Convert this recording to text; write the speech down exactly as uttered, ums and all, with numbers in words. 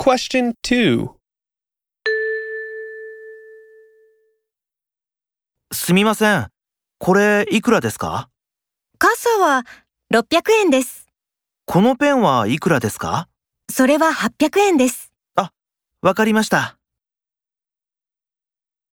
Question two. すみません。これいくらですか？ 傘はろっぴゃくえんです。 このペンはいくらですか？ それははっぴゃくえんです。 あ、わかりました。